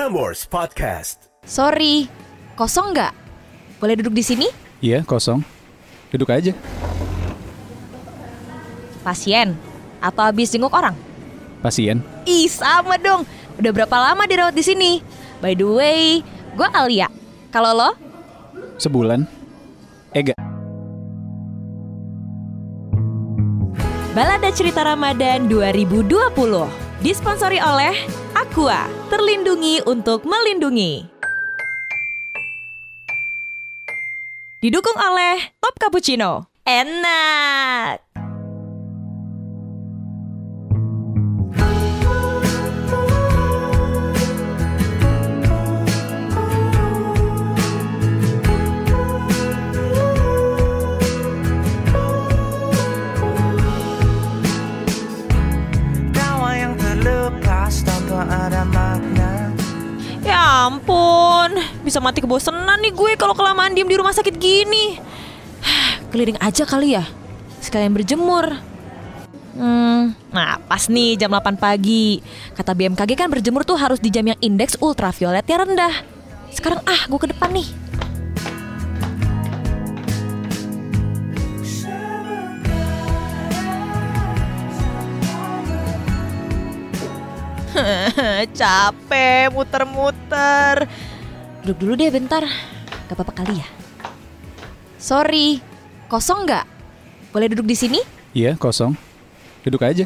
Prambors Podcast. Sorry, kosong nggak? Boleh duduk di sini? Iya, kosong. Duduk aja. Pasien? Atau habis jenguk orang? Pasien. Ih, sama dong. Udah berapa lama dirawat di sini? By the way, gue Alia. Kalau lo? Sebulan. Ega. Balada Cerita Ramadan 2020 disponsori oleh Aqua, terlindungi untuk melindungi. Didukung oleh Top Cappuccino. Enak. Ya ampun, bisa mati kebosanan nih gue kalau kelamaan diem di rumah sakit gini. Keliling aja kali ya, sekalian berjemur. Nah pas nih jam 8 pagi. Kata BMKG kan berjemur tuh harus di jam yang indeks ultravioletnya rendah. Sekarang gue ke depan nih. Capek muter-muter. Duduk dulu deh bentar. Gak apa-apa kali ya. Sorry, kosong nggak? Boleh duduk di sini? Iya, kosong. Duduk aja.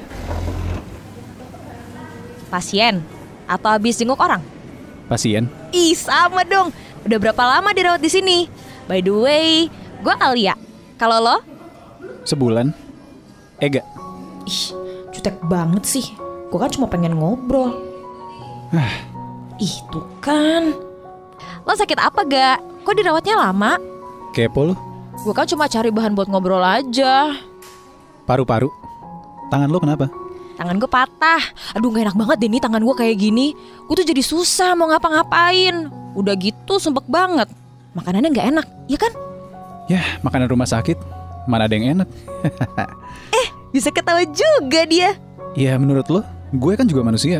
Pasien? Atau habis jenguk orang? Pasien. Ih, sama dong. Udah berapa lama dirawat di sini? By the way, gue Alia. Kalau lo? Sebulan. Ega. Ih, jutek banget sih. Gue kan cuma pengen ngobrol. Ih, tuh kan. Lo sakit apa gak? Kok dirawatnya lama? Kepo lu. Gue kan cuma cari bahan buat ngobrol aja. Paru-paru. Tangan lu kenapa? Tangan gue patah. Aduh, gak enak banget deh nih tangan gue kayak gini. Gue tuh jadi susah mau ngapa-ngapain. Udah gitu sumpek banget. Makanannya gak enak, ya kan? Yah, makanan rumah sakit. Mana ada yang enak? Bisa ketawa juga dia. Ya menurut lo, gue kan juga manusia.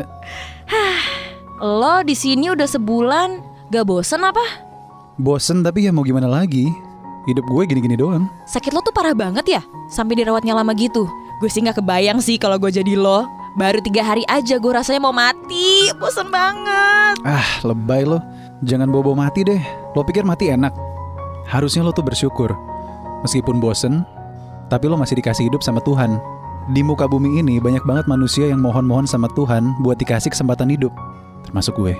Lo di sini udah sebulan, gak bosen apa? Bosen tapi ya mau gimana lagi. Hidup gue gini-gini doang. Sakit lo tuh parah banget ya? Sampai dirawatnya lama gitu. Gue sih gak kebayang sih kalau gue jadi lo. Baru 3 hari aja gue rasanya mau mati. Bosen banget. Lebay lo. Jangan bobo mati deh. Lo pikir mati enak? Harusnya lo tuh bersyukur. Meskipun bosen, tapi lo masih dikasih hidup sama Tuhan. Di muka bumi ini banyak banget manusia yang mohon-mohon sama Tuhan buat dikasih kesempatan hidup. Termasuk gue.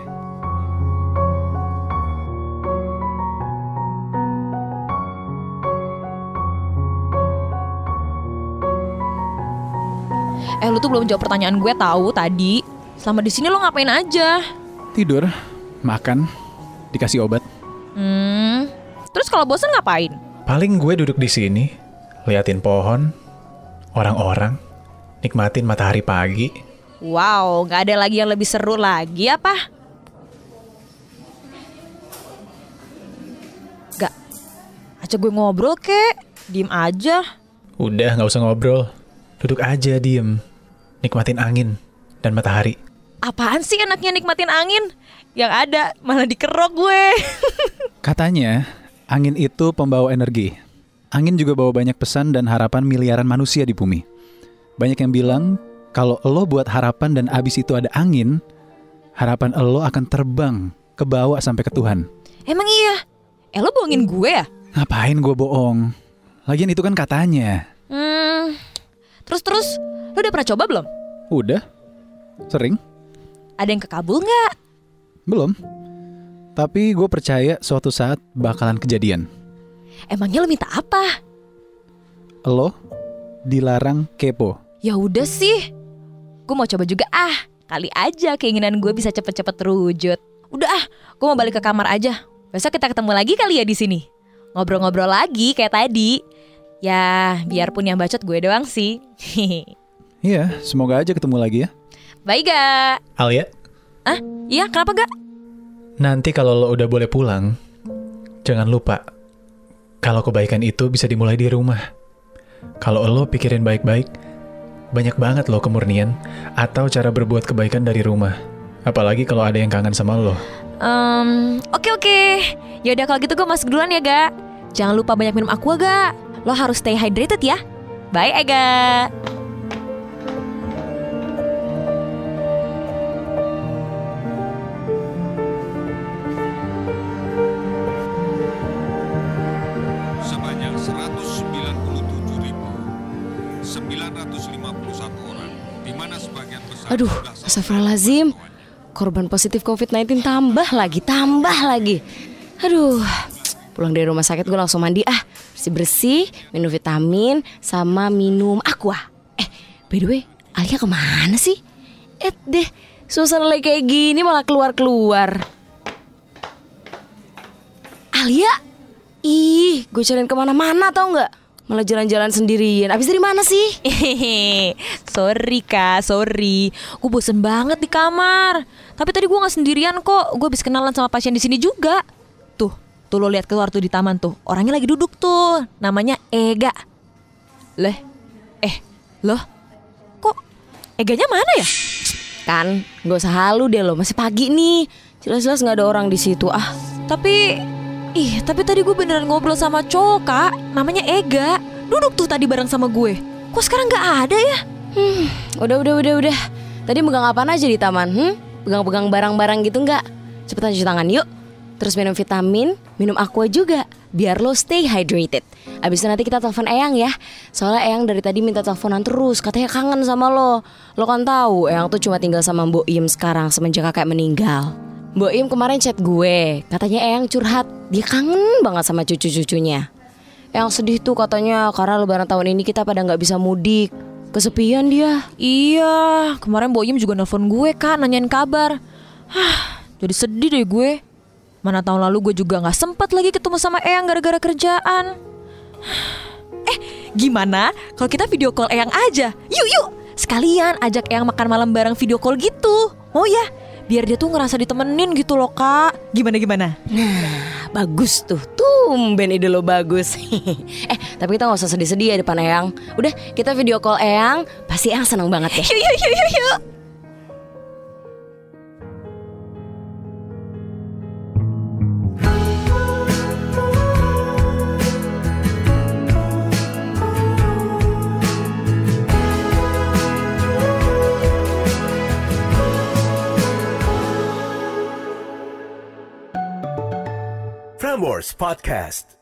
Lu tuh belum jawab pertanyaan gue tahu tadi. Selama di sini lo ngapain aja? Tidur, makan, dikasih obat. Terus kalau bosan ngapain? Paling gue duduk di sini, liatin pohon, orang-orang, nikmatin matahari pagi. Wow, gak ada lagi yang lebih seru lagi apa? Gak, ajak gue ngobrol kek, diem aja. Udah gak usah ngobrol, duduk aja diem, nikmatin angin dan matahari. Apaan sih enaknya nikmatin angin? Yang ada malah dikerok gue. Katanya, angin itu pembawa energi. Angin juga bawa banyak pesan dan harapan miliaran manusia di bumi. Banyak yang bilang, kalau lo buat harapan dan abis itu ada angin, harapan lo akan terbang ke bawah sampai ke Tuhan. Emang iya? Lo bohongin gue ya? Ngapain gue bohong? Lagian itu kan katanya. Terus, lo udah pernah coba belum? Udah? Sering? Ada yang kekabul gak? Belum. Tapi gue percaya suatu saat bakalan kejadian. Emangnya lo minta apa? Lo dilarang kepo. Ya udah sih, gue mau coba juga kali aja keinginan gue bisa cepet-cepet terwujud. Udah gue mau balik ke kamar aja. Besok kita ketemu lagi kali ya di sini. Ngobrol-ngobrol lagi kayak tadi. Ya biarpun yang bacot gue doang sih. Iya, semoga aja ketemu lagi ya. Bye gak? Alia? Iya kenapa gak? Nanti kalau lo udah boleh pulang, jangan lupa kalau kebaikan itu bisa dimulai di rumah. Kalau lo pikirin baik-baik, banyak banget lo kemurnian atau cara berbuat kebaikan dari rumah. Apalagi kalau ada yang kangen sama lo. Oke. Yaudah kalau gitu gue masuk duluan ya, Ga. Jangan lupa banyak minum aqua, Ga. Lo harus stay hydrated ya. Bye, Ega. Sebanyak 197.951 orang, di mana sebagian besar... Aduh, astagfirullahaladzim. Korban positif COVID-19 tambah lagi. Aduh, pulang dari rumah sakit gue langsung mandi bersih-bersih, minum vitamin, sama minum aqua. By the way, Alia kemana sih? Deh, suasana lagi kayak gini malah keluar-keluar. Alia? Ih, gue cariin kemana-mana tau gak? Malah jalan-jalan sendirian. Abis dari mana sih? Sorry Kak, sorry. Gue bosen banget di kamar. Tapi tadi gue gak sendirian kok. Gue habis kenalan sama pasien di sini juga. Tuh lo lihat keluar tuh di taman tuh. Orangnya lagi duduk tuh. Namanya Ega. Loh? Kok Eganya mana ya? Kan, gak usah halu deh lo. Masih pagi nih. Jelas-jelas gak ada orang di situ. Tapi tadi gue beneran ngobrol sama cowok Kak. Namanya Ega. Duduk tuh tadi bareng sama gue. Kok sekarang gak ada ya? Udah. Tadi megang apaan aja di taman? Pegang-pegang barang-barang gitu nggak? Cepetan cuci tangan yuk. Terus minum vitamin, minum aqua juga, biar lo stay hydrated. Abis itu nanti kita telepon Eyang ya. Soalnya Eyang dari tadi minta teleponan terus, katanya kangen sama lo. Lo kan tahu Eyang tuh cuma tinggal sama Mbok Im sekarang semenjak kakek meninggal. Mbok Im kemarin chat gue, katanya Eyang curhat, dia kangen banget sama cucu-cucunya. Eyang sedih tuh katanya karena lebaran tahun ini kita pada nggak bisa mudik. Kesepian dia. Iya, kemarin Mbok Im juga nelfon gue Kak, nanyain kabar. Jadi sedih deh gue. Mana tahun lalu gue juga gak sempat lagi ketemu sama Eyang gara-gara kerjaan. Gimana kalau kita video call Eyang aja? Yuk, sekalian ajak Eyang makan malam bareng video call gitu. Oh ya, biar dia tuh ngerasa ditemenin gitu loh Kak. Gimana? Nah, bagus tuh. Tumben ide lo bagus. Tapi kita gak usah sedih-sedih ya depan Eyang. Udah, kita video call Eyang. Pasti Eyang seneng banget ya. Yuk. Prambors Podcast.